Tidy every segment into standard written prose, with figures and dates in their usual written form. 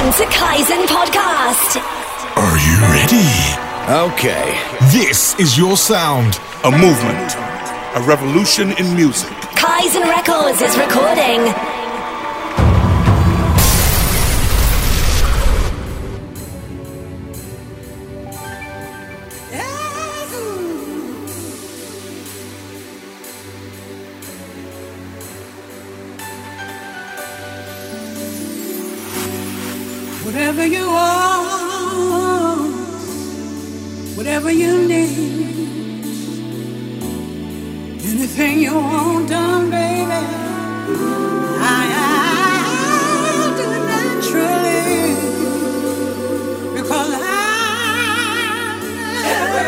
Welcome to Kaizen Podcast. Are you ready? Okay. This is your sound. A movement. A revolution in music. Kaizen Records is recording. Whatever you want, whatever you need, anything you want done, baby, I'll do it naturally, because every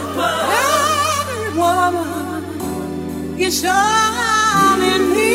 woman is all in me.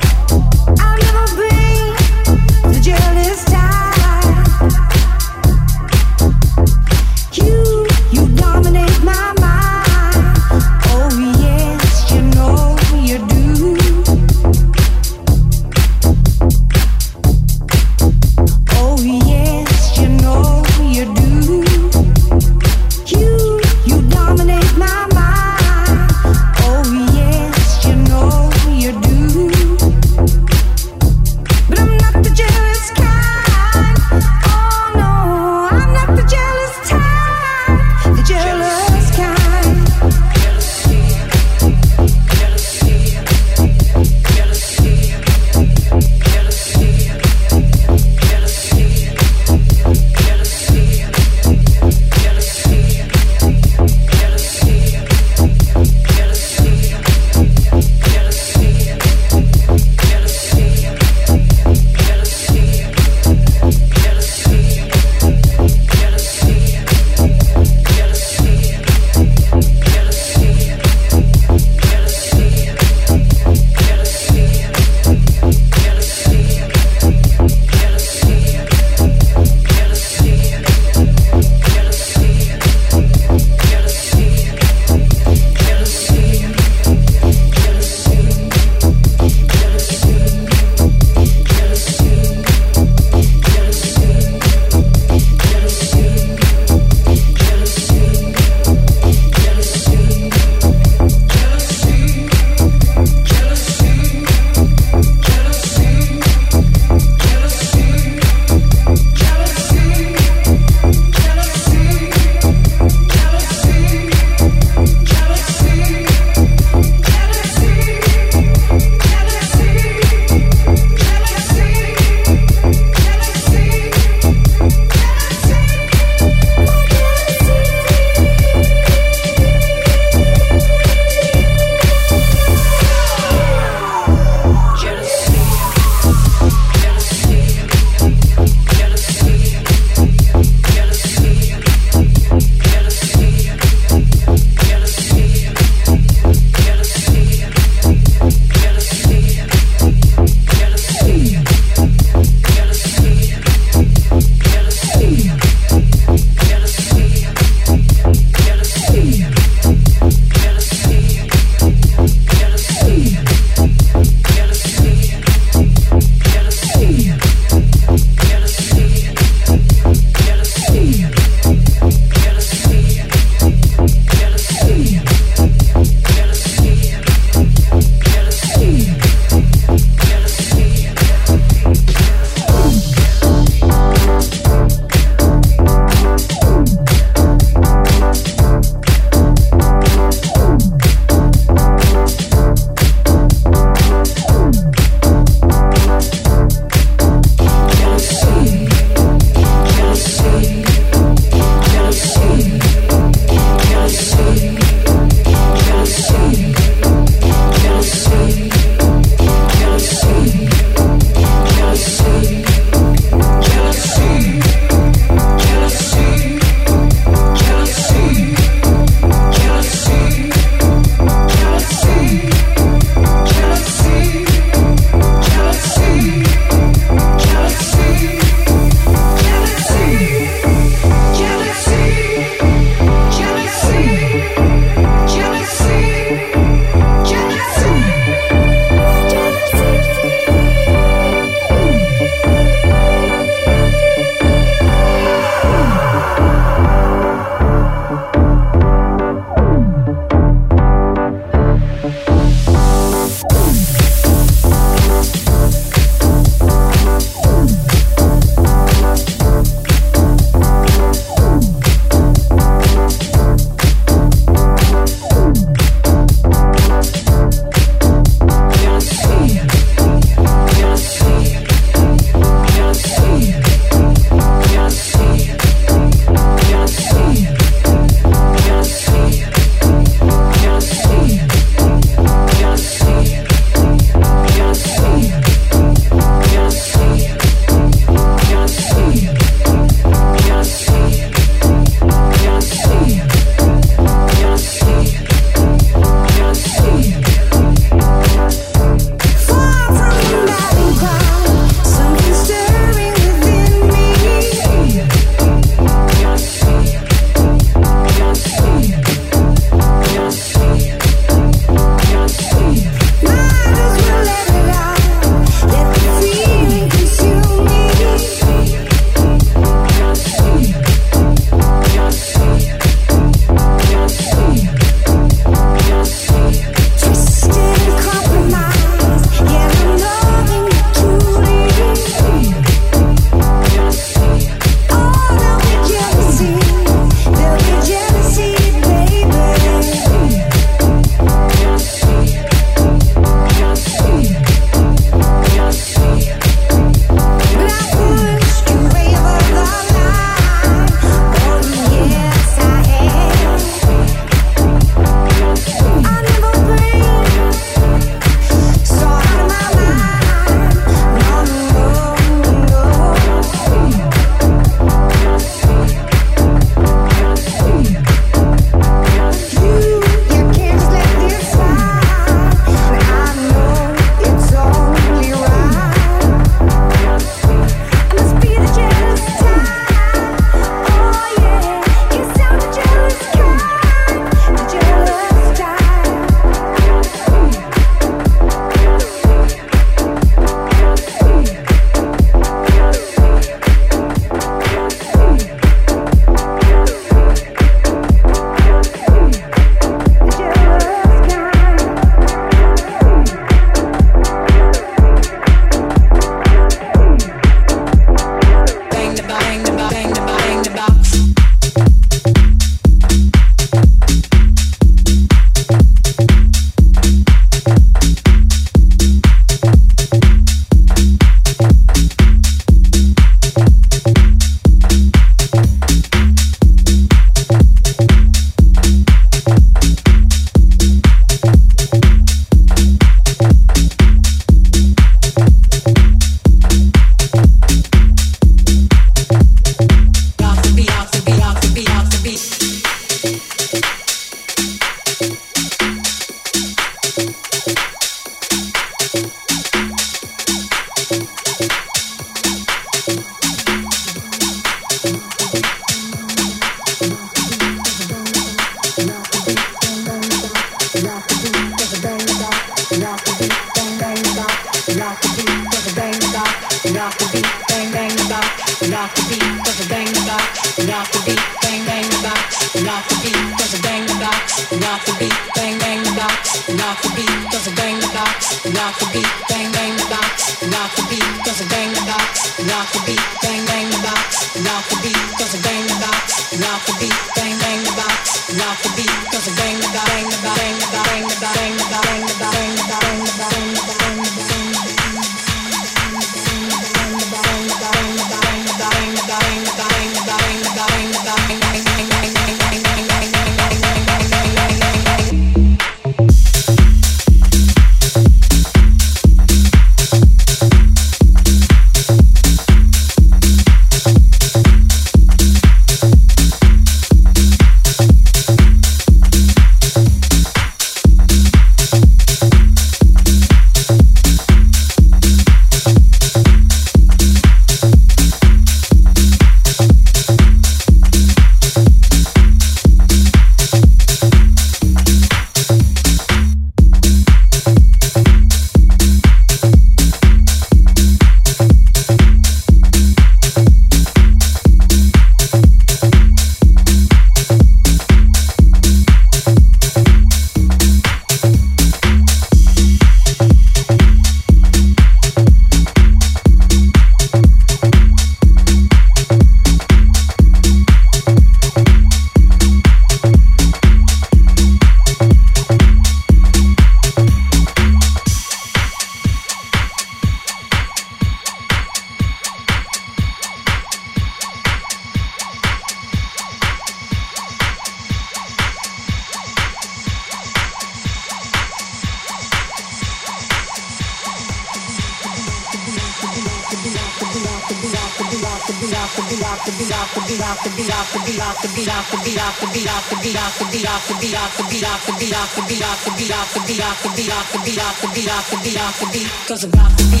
Cause I got the beat.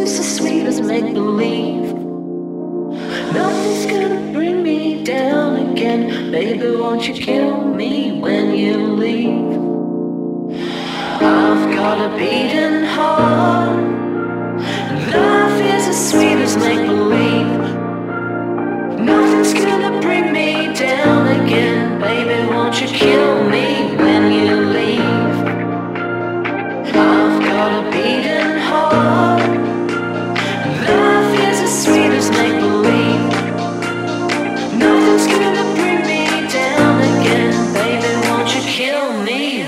feels so sweet as make believe. Nothing's gonna bring me down again. Baby, won't you kill me when you leave? I've got a beating heart. Life is as sweet as make believe. Nothing's gonna bring me down again. Baby, won't you kill me when you leave? I've got a beating heart. Life is as sweet as make believe. Nothing's gonna bring me down again. Baby, won't you kill me?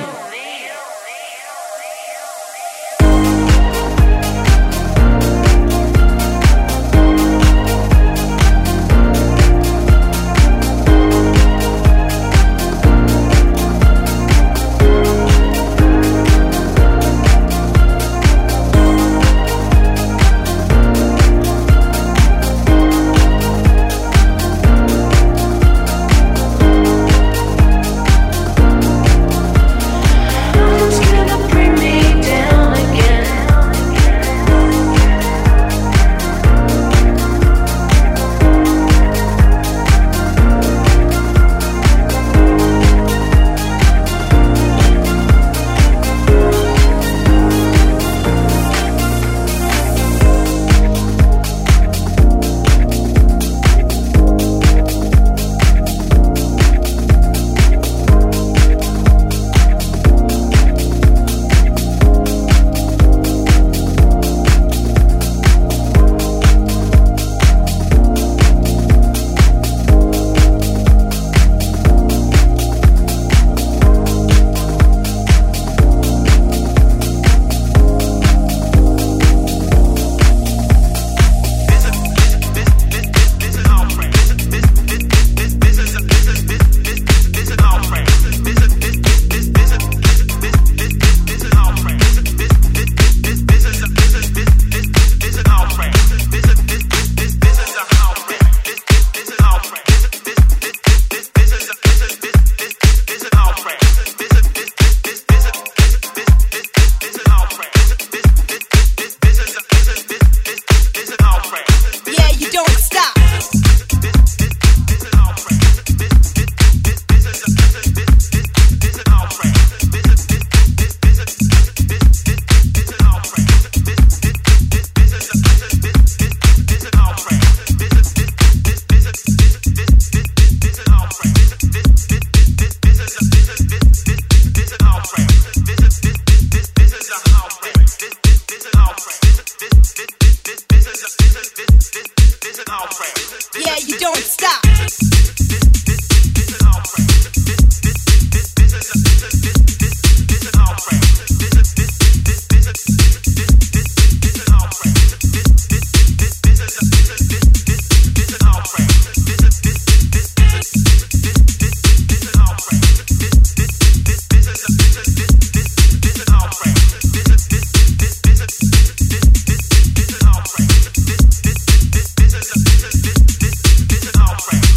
Friend.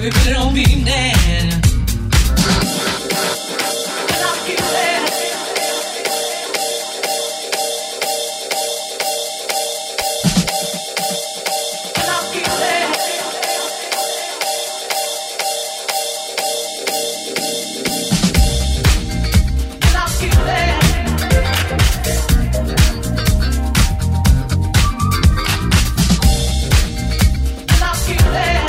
really don't mean that. And I feel that. And I feel that. And I feel that. And I feel that.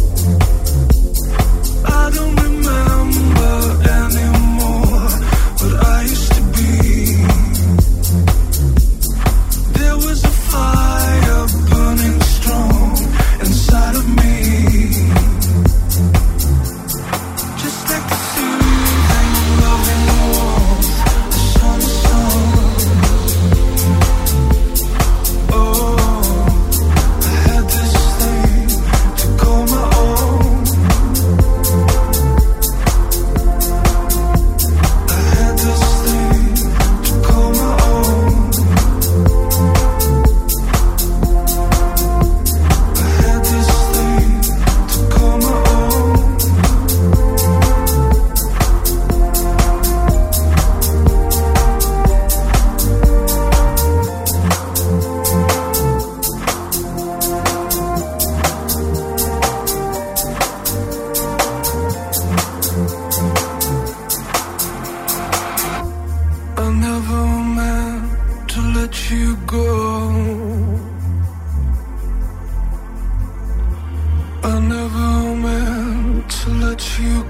I don't remember anymore.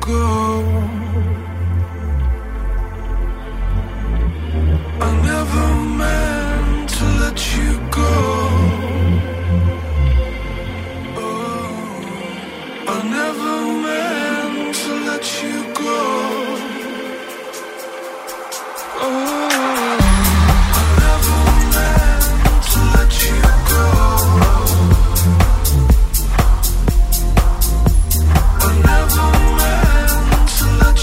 go. I never meant to let you go. Oh, I never meant to let you go. Oh, I never meant to let you go. I never meant to let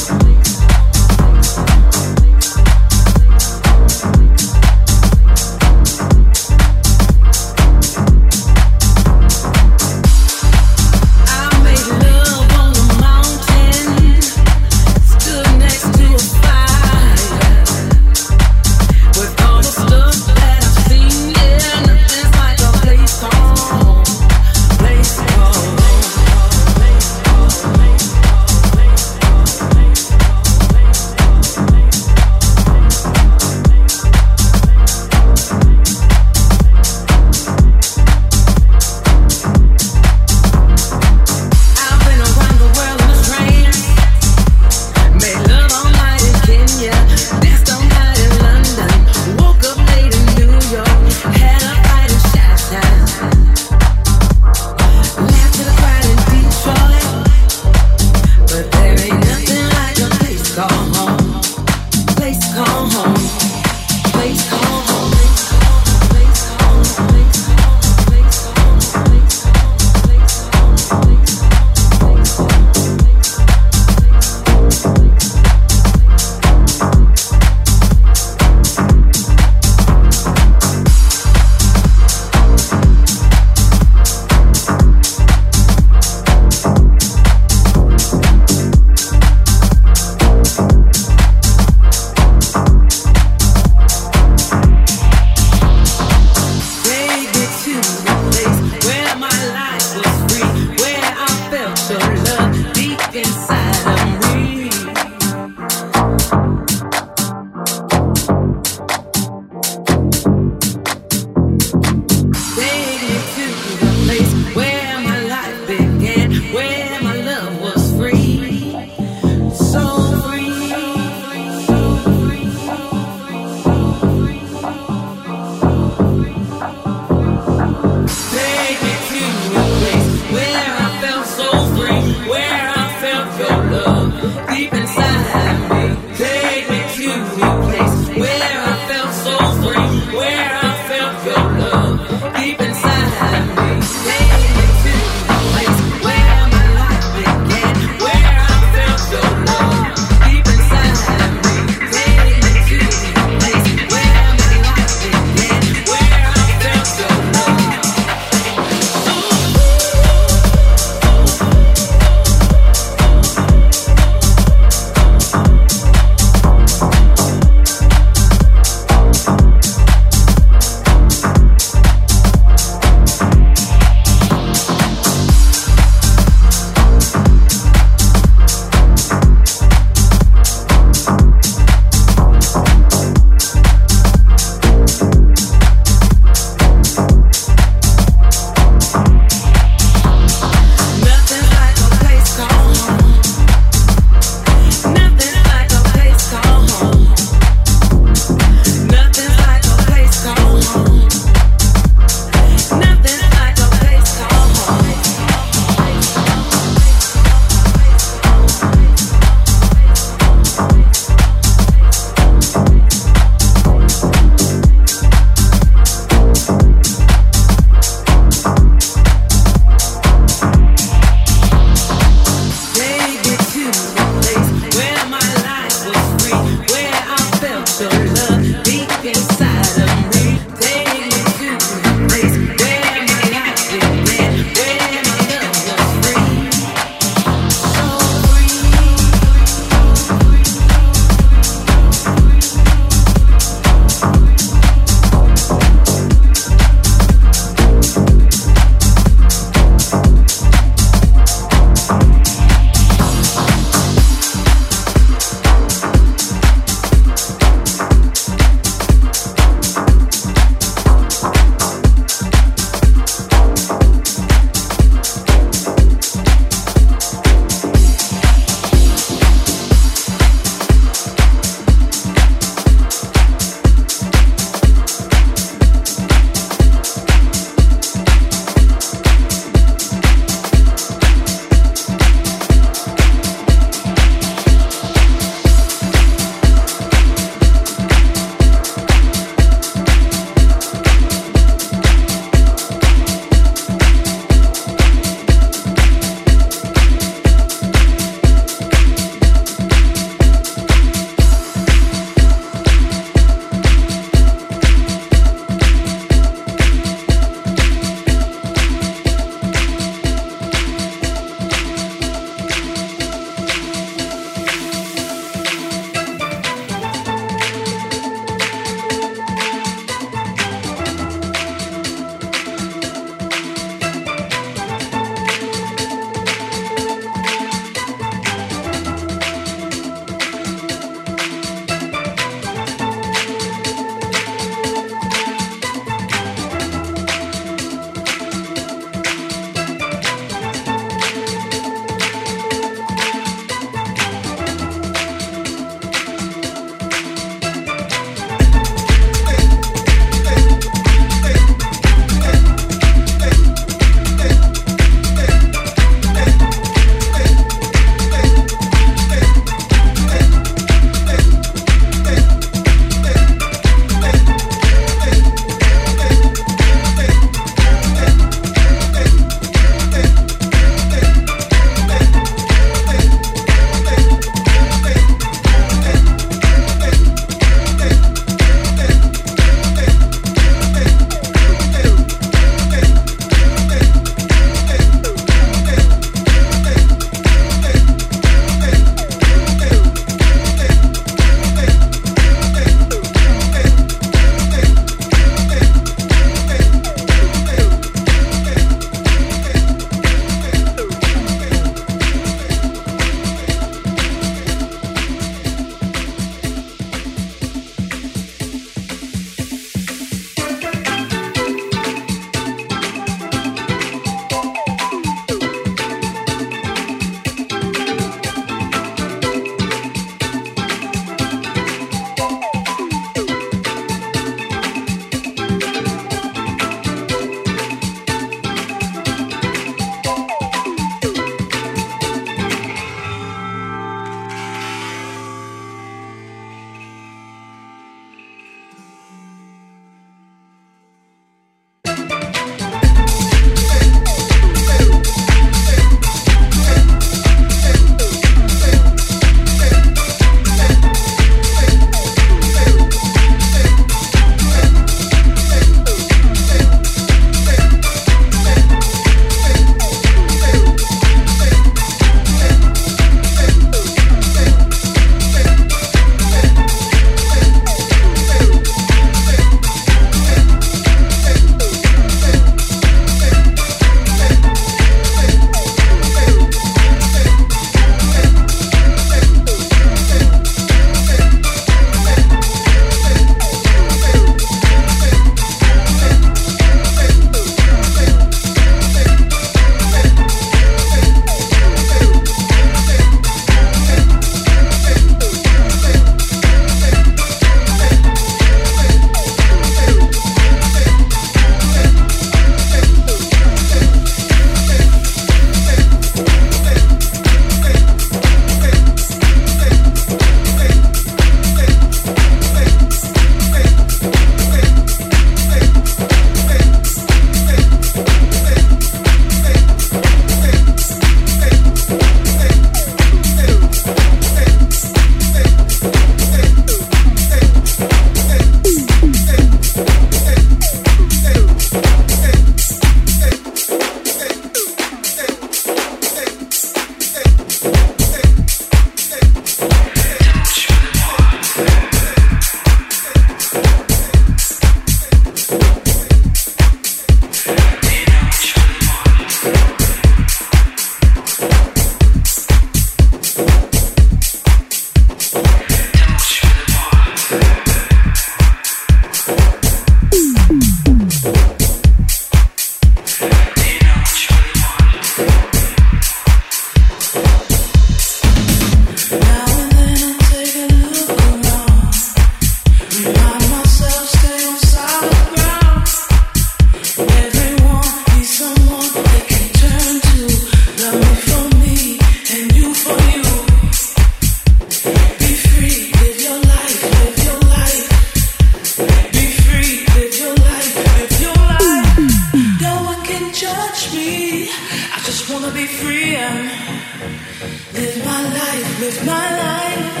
wanna be free and live my life, live my life.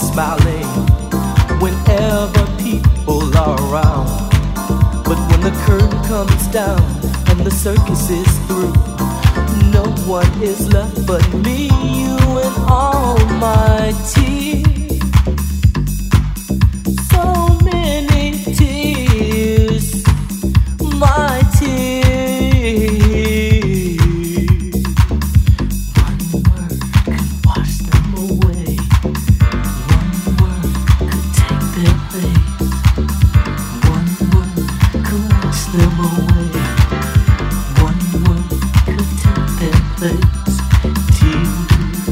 smiling whenever people are around. But when the curtain comes down and the circus is through, no one is left but me, you, and all my tears. So many tears, my tears. One word could wash them away. One word could take their place. One word could wash them away. One word could take their place. Tears.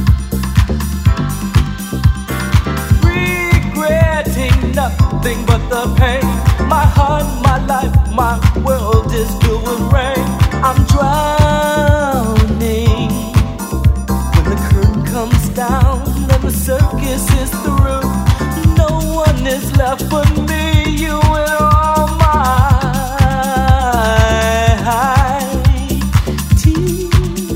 Regretting nothing but the pain. My heart, my life, my world is filled with rain. I'm drowning when the curtain comes down and the circus is through. No one is left but me, you, and all my tears.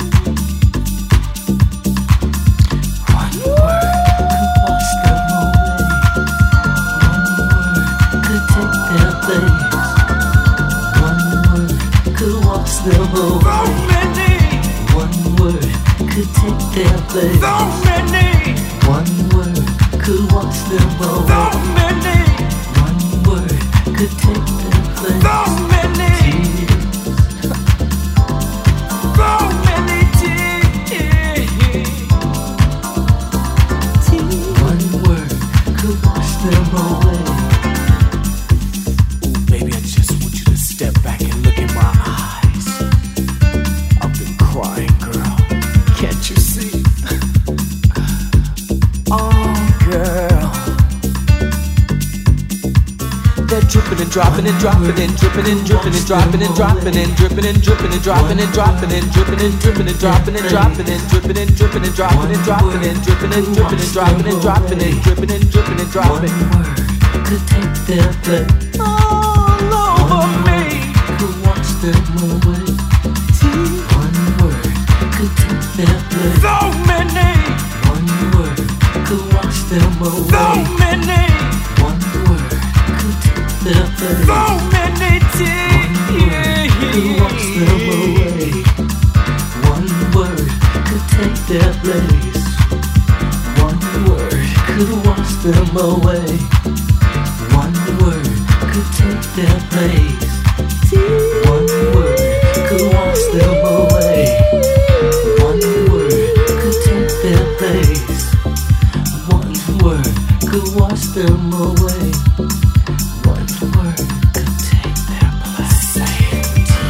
One word could wash them away. One word could take their place. One word could wash them away. One word could take their place. One word could wash them away. One word could take their place. Tears. One word could wash them away. Ooh, baby, I just want you to step back and look in my eyes. I've been crying, girl. Can't you see? Oh, girl. They're dripping and dropping and dropping and dripping and dripping and dropping and dropping and dripping and dripping and dropping and dropping and dripping and dripping and dropping and dropping and dripping and dripping and dropping and dropping and dripping and dripping and dropping and dropping and dripping and dripping and dropping. One word could take their place all over me. Could wash them away. One word could take their place. So many. One word could wash them away. So many. One word could take their place. So many tears. Could wash them away. One word could take their place. One word could wash them away. One word could take their place. One word could wash them away. One word could take their place. One word could wash them away. One word could take their place. Say it.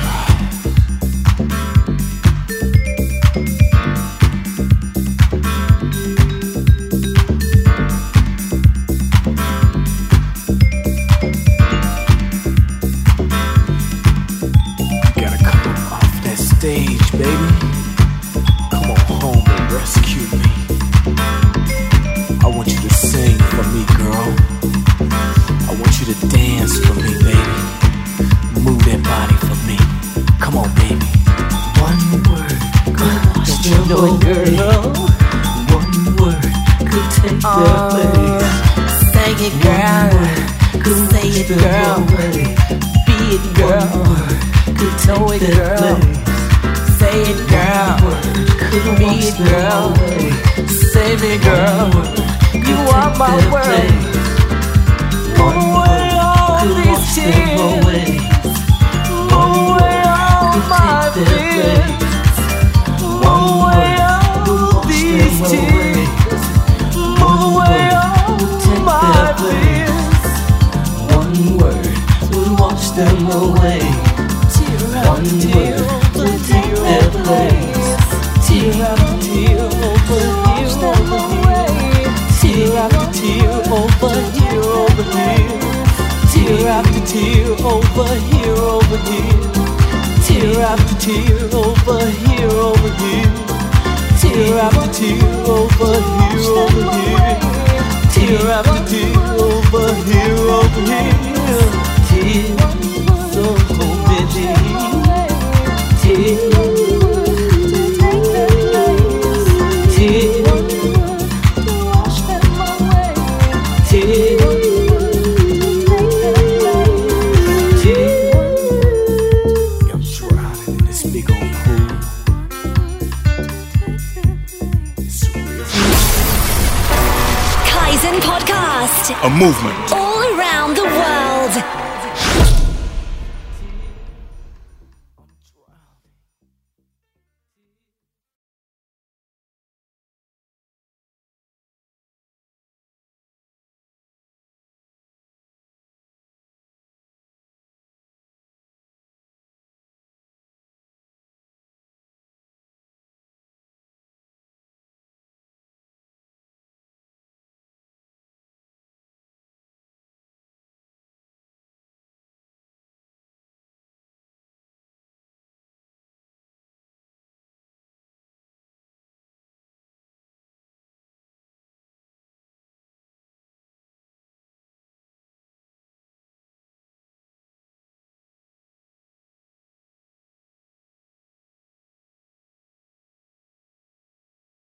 You gotta come off that stage, baby. Come on home and rescue me. I want you to sing for me, girl. I want you to dance for me, baby. Move that body for me. Come on, baby. One word could wash them away. One word could take their place. Say it, girl. Say it, girl. Be it, girl. Know it, girl. Say it, girl. Be it, girl. Save me, girl. You are my world. Move away all these tears. Move away all my fears. Move away all these tears. Move away all my fears. One word will wash them away. One word will take their place. Tear after tear over here, over here. Tear after tear over here, over here. Tear after tear over here, over here. Tear after tear over here, over here. Tear after tear over here, over here. Tear after tear over here, over here. Tears so many. Tears. Tears. Podcast. A movement. All around the world.